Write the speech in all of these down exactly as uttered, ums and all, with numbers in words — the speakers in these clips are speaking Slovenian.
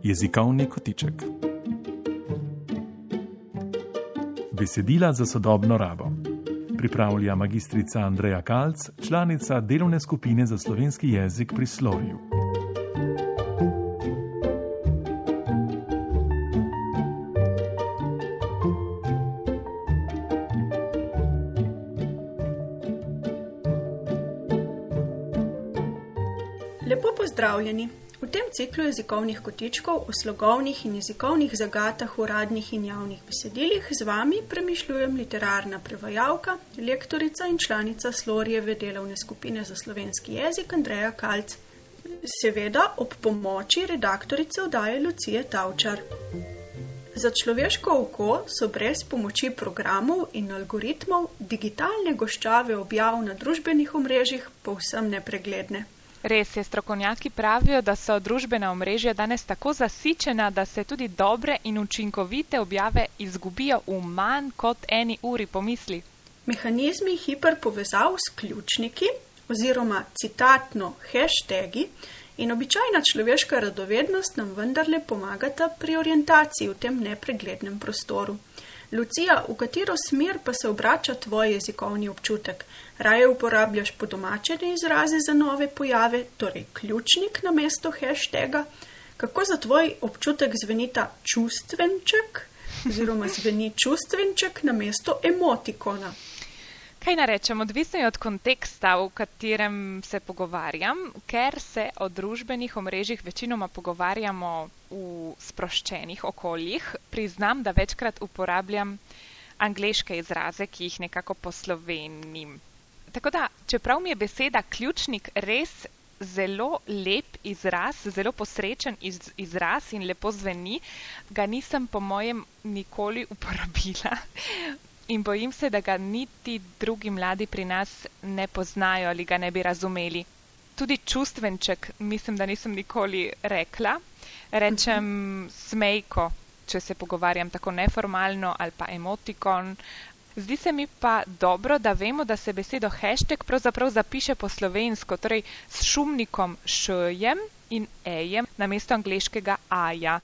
Jezikovni kotiček. Besedila za sodobno rabo. Pripravlja magistrica Andreja Kalc, članica delovne skupine za slovenski jezik pri Slovju. Lepo pozdravljeni! V tem ciklu jezikovnih kotičkov o slogovnih in jezikovnih zagatah v uradnih in javnih besedilih z vami premišljujem literarna prevajalka, lektorica in članica Slorjeve delovne skupine za slovenski jezik Andreja Kalc. Seveda ob pomoči redaktorice oddaje Lucije Tavčar. Za človeško oko so brez pomoči programov in algoritmov digitalne goščave objav na družbenih omrežjih povsem nepregledne. Res je, strokovnjaki pravijo, da so družbena omrežja danes tako zasičena, da se tudi dobre in učinkovite objave izgubijo v manj kot eni uri pomisli. Mehanizmi hiperpovezav s ključniki oziroma citatno hashtagi in običajna človeška radovednost nam vendarle pomagata pri orientaciji v tem nepreglednem prostoru. Lucija, v katero smer pa se obrača tvoj jezikovni občutek? Raje uporabljaš podomačene izraze za nove pojave, torej ključnik namesto hashtaga? Kako za tvoj občutek zvenita čustvenček oziroma zveni čustvenček namesto emotikona? Kaj narečem, odvisno je od konteksta, v katerem se pogovarjam, ker se o družbenih omrežjih večinoma pogovarjamo v sproščenih okoljih. Priznam, da večkrat uporabljam angleške izraze, ki jih nekako poslovenim. Tako da, čeprav mi je beseda ključnik res zelo lep izraz, zelo posrečen iz, izraz in lepo zveni, ga nisem po mojem nikoli uporabila. In bojim se, da ga niti drugi mladi pri nas ne poznajo ali ga ne bi razumeli. Tudi čustvenček mislim, da nisem nikoli rekla. Rečem smejko, če se pogovarjam tako neformalno, ali pa emotikon. Zdi se mi pa dobro, da vemo, da se besedo hashtag pravzaprav zapiše po slovensko, torej s šumnikom š-jem in e-jem namesto angleškega a-ja.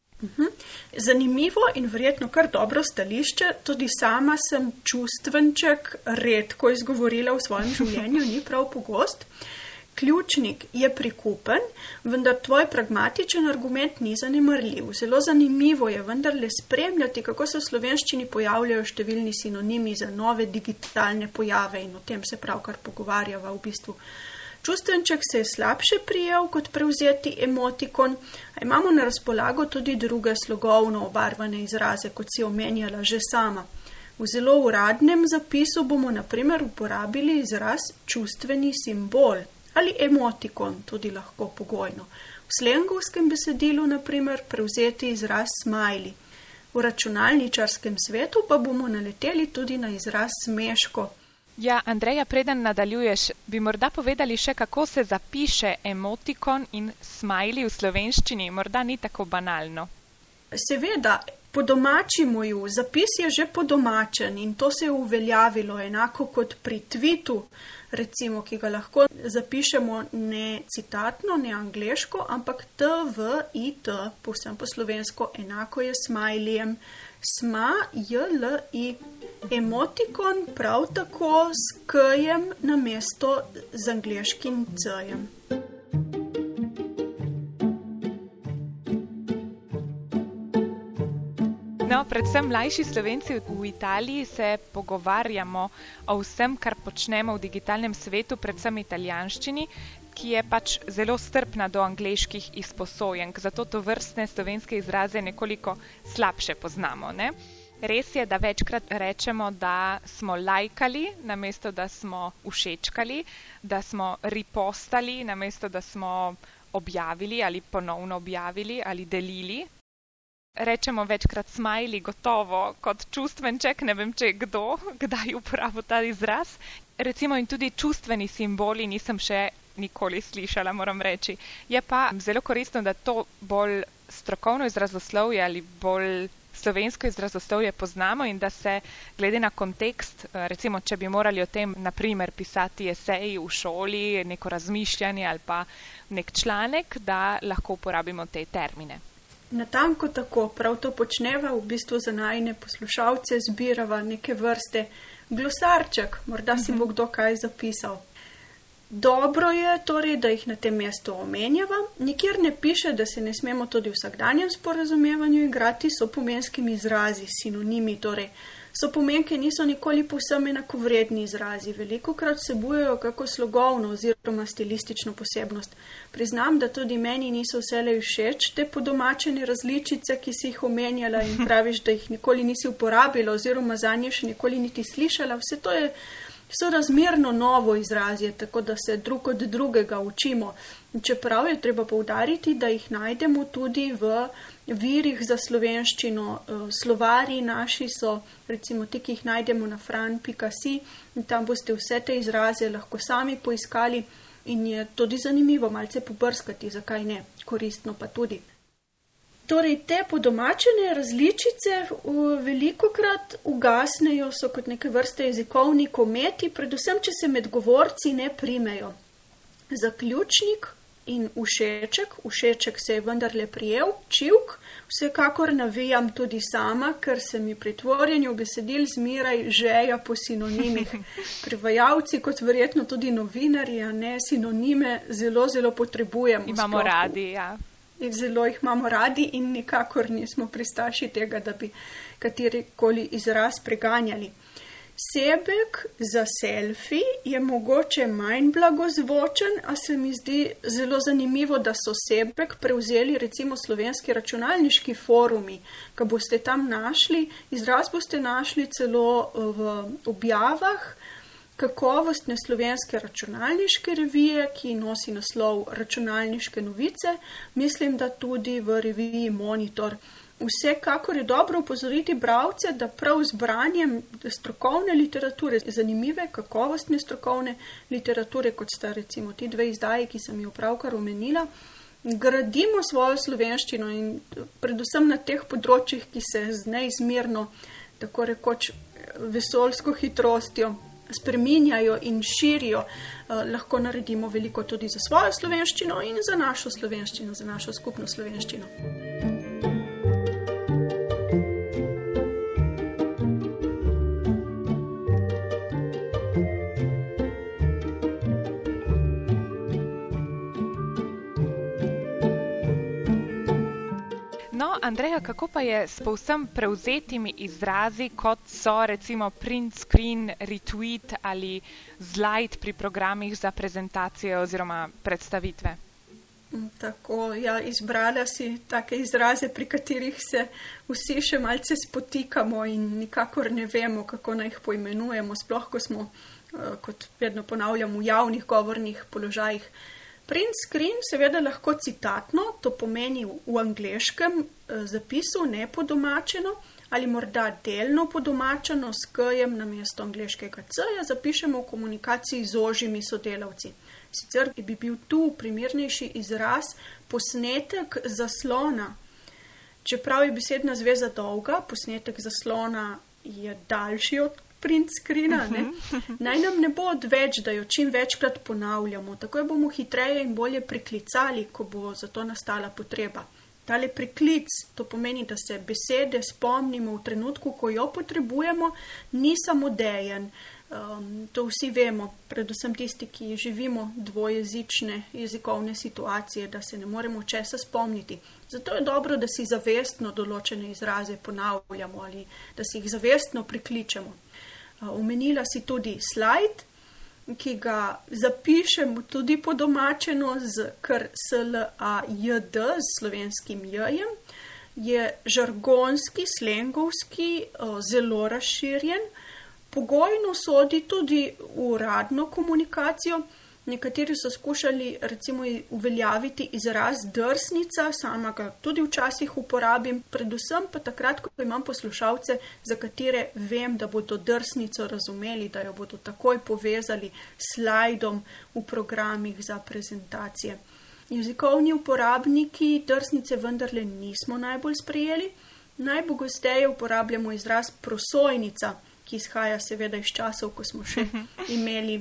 Zanimivo in verjetno kar dobro stališče, tudi sama sem čustvenček redko izgovorila v svojem življenju, ni prav pogost. Ključnik je prikupen, vendar tvoj pragmatičen argument ni zanemarljiv. Zelo zanimivo je vendarle spremljati, kako se v slovenščini pojavljajo številni sinonimi za nove digitalne pojave in o tem se pravkar pogovarjava v bistvu. Čustvenček se je slabše prijel kot prevzeti emotikon, a imamo na razpolago tudi druge slogovno obarvane izraze, kot si omenjala že sama. V zelo uradnem zapisu bomo na primer uporabili izraz čustveni simbol ali emotikon, tudi lahko pogojno. V slengovskem besedilu na primer prevzeti izraz smajli. V računalničarskem svetu pa bomo naleteli tudi na izraz smeško. Ja, Andreja, preden nadaljuješ, bi morda povedali še, kako se zapiše emotikon in smajli v slovenščini, morda ni tako banalno. Seveda, podomačimo ju, zapis je že podomačen in to se je uveljavilo enako kot pri tweetu, recimo, ki ga lahko zapišemo ne citatno, ne angleško, ampak t v i t, povsem po slovensko, enako je smajlijem, sma, j, l, i. Emotikon prav tako s k-jem namesto z angleškim c-jem. No, predvsem mlajši Slovenci v Italiji se pogovarjamo o vsem, kar počnemo v digitalnem svetu, predvsem italijanščini, ki je pač zelo strpna do angleških izposojenk, zato to vrstne slovenske izraze nekoliko slabše poznamo, ne? Res je, da večkrat rečemo, da smo lajkali, namesto da smo všečkali, da smo ripostali, namesto da smo objavili ali ponovno objavili ali delili. Rečemo večkrat smajli, gotovo, kot čustvenček, ne vem, če kdo, kdaj uporabil ta izraz. Recimo in tudi čustveni simboli nisem še nikoli slišala, moram reči. Je pa zelo koristno, da to bolj strokovno izrazoslovje ali bolj slovensko izrazoslovje poznamo in da se glede na kontekst, recimo, če bi morali o tem, na primer, pisati esej v šoli, neko razmišljanje ali pa nek članek, da lahko uporabimo te termine. Natanko tako, prav to počneva, v bistvu za najine poslušalce zbirava neke vrste glosarček, morda si bo kdo kaj zapisal. Dobro je torej, da jih na tem mestu omenjava. Nikjer ne piše, da se ne smemo tudi v vsakdanjem sporazumevanju igrati s sopomenskimi izrazi, sinonimi, torej sopomenke niso nikoli povsem enakovredni izrazi, velikokrat vsebujejo kako slogovno oziroma stilistično posebnost. Priznam, da tudi meni niso vselej všeč te podomačene različice, ki si jih omenjala in praviš, da jih nikoli nisi uporabila oziroma zanje še nikoli niti slišala. Vse to je so razmerno novo izrazje, tako da se drug od drugega učimo. Čeprav je treba poudariti, da jih najdemo tudi v virih za slovenščino. Slovari naši so, recimo ti, ki jih najdemo na fran pika si, in tam boste vse te izraze lahko sami poiskali in je tudi zanimivo malce pobrskati, zakaj ne, koristno pa tudi. Torej, te podomačene različice velikokrat ugasnejo, so kot neke vrste jezikovni kometi, predvsem, če se med govorci ne primejo. Zaključnik in všeček, všeček se je vendarle prijel, čivk, vsekakor navijam tudi sama, ker se mi pri tvorjenju besedil zmeraj žeja po sinonimih. Prevajalci, kot verjetno tudi novinarji, a ne, sinonime zelo, zelo potrebujemo. Imamo radi, ja. Zelo jih imamo radi in nikakor nismo pristaši tega, da bi katerikoli izraz preganjali. Sebek za selfie je mogoče manj blagozvočen, a se mi zdi zelo zanimivo, da so sebek prevzeli recimo slovenski računalniški forumi, ko boste tam našli, izraz boste našli celo v objavah kakovostne slovenske računalniške revije, ki nosi naslov Računalniške novice, mislim, da tudi v reviji Monitor. Vsekakor je dobro upozoriti bralce, da prav z branjem strokovne literature, zanimive, kakovostne strokovne literature, kot sta recimo ti dve izdaji, ki sem jo pravkar omenila, gradimo svojo slovenščino in predvsem na teh področjih, ki se z neizmerno, tako rekoč, vesoljsko hitrostjo spreminjajo in širijo, eh, lahko naredimo veliko tudi za svojo slovenščino in za našo slovenščino, za našo skupno slovenščino. Andreja, kako pa je s povsem prevzetimi izrazi, kot so recimo print screen, retweet ali slide pri programih za prezentacije oziroma predstavitve? Tako, ja, izbrala si take izraze, pri katerih se vsi še malce spotikamo in nikakor ne vemo, kako naj jih poimenujemo, sploh ko smo, kot vedno ponavljam, v javnih govornih položajih. Print screen seveda lahko citatno, to pomeni v angleškem zapisu nepodomačeno ali morda delno podomačeno s k-jem namesto angleškega c-ja zapišemo v komunikaciji z ožjimi sodelavci. Sicer bi bil tu primernejši izraz posnetek zaslona. Čeprav je besedna zveza dolga, posnetek zaslona je daljši od print screena, ne? Naj nam ne bo odveč, da jo čim večkrat ponavljamo, tako jo bomo hitreje in bolje priklicali, ko bo za to nastala potreba. Tale priklic, to pomeni, da se besede spomnimo v trenutku, ko jo potrebujemo, ni samodejen. Um, to vsi vemo, predvsem tisti, ki živimo dvojezične jezikovne situacije, da se ne moremo česa spomniti. Zato je dobro, da si zavestno določene izraze ponavljamo ali da si jih zavestno prikličemo. Omenila si tudi slide, ki ga zapišemo tudi podomačeno z kar S-L-A-J-D, z slovenskim J-jem, je žargonski, slengovski, zelo razširjen, pogojno sodi tudi v uradno komunikacijo. Nekateri so skušali recimo uveljaviti izraz drsnica, sama ga tudi včasih uporabim, predvsem pa takrat, ko imam poslušalce, za katere vem, da bodo drsnico razumeli, da jo bodo takoj povezali s slajdom v programih za prezentacije. Jezikovni uporabniki drsnice vendarle nismo najbolj sprejeli. Najpogosteje uporabljamo izraz prosojnica, ki izhaja seveda iz časov, ko smo še imeli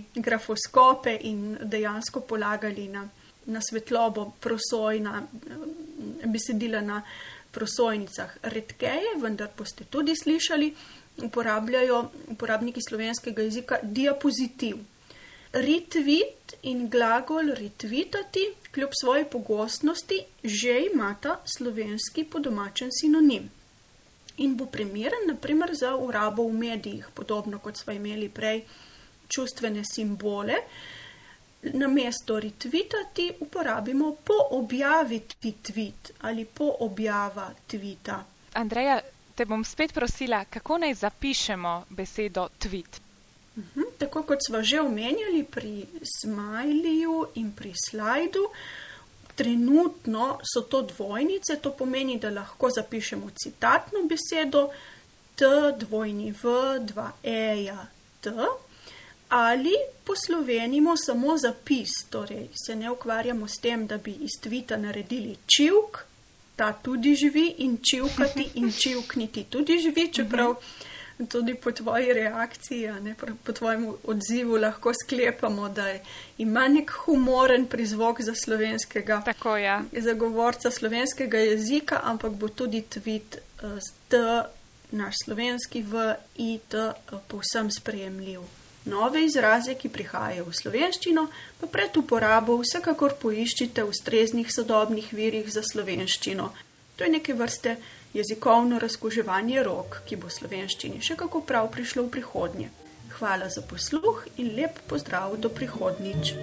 grafoskope in dejansko polagali na, na svetlobo prosojna besedila na prosojnicah. Redkeje, vendar boste tudi slišali, uporabljajo uporabniki slovenskega jezika diapozitiv. Retweet in glagol retvitati, kljub svoji pogostnosti, že imata slovenski podomačen sinonim. In bo primeren, naprimer, za urabo v medijih, podobno kot smo imeli prej čustvene simbole. Namesto retvitati uporabimo poobjaviti tweet ali poobjava tweeta. Andreja, te bom spet prosila, kako naj zapišemo besedo tweet? Uhum, tako kot sva že omenjali pri smajliju in pri slajdu, trenutno so to dvojnice, to pomeni, da lahko zapišemo citatno besedo t, dvojni v, dva eja, t, ali poslovenimo samo zapis, torej se ne ukvarjamo s tem, da bi iz tvita naredili čivk, ta tudi živi, in čivkati in čivkniti tudi živi, čeprav tudi po tvoji reakciji, ne, po tvojem odzivu lahko sklepamo, da ima nek humoren prizvok za slovenskega Tako, ja. zagovorca slovenskega jezika, ampak bo tudi tweet z t, naš slovenski v, i, t, povsem sprejemljiv. Nove izraze, ki prihajajo v slovenščino, pa pred uporabo vsekakor poiščite v ustreznih sodobnih virih za slovenščino. To je neke vrste jezikovno razkuževanje rok, ki bo slovenščini še kako prav prišlo v prihodnje. Hvala za posluh in lep pozdrav do prihodnjič.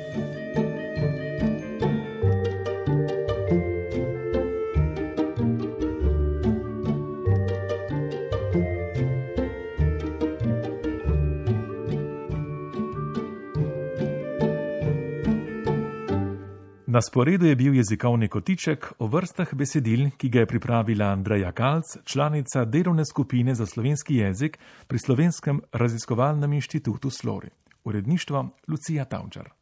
Na sporedu je bil jezikovni kotiček o vrstah besedil, ki ga je pripravila Andreja Kalc, članica delovne skupine za slovenski jezik pri Slovenskem raziskovalnem inštitutu Slori. Uredništvo Lucija Tavčar.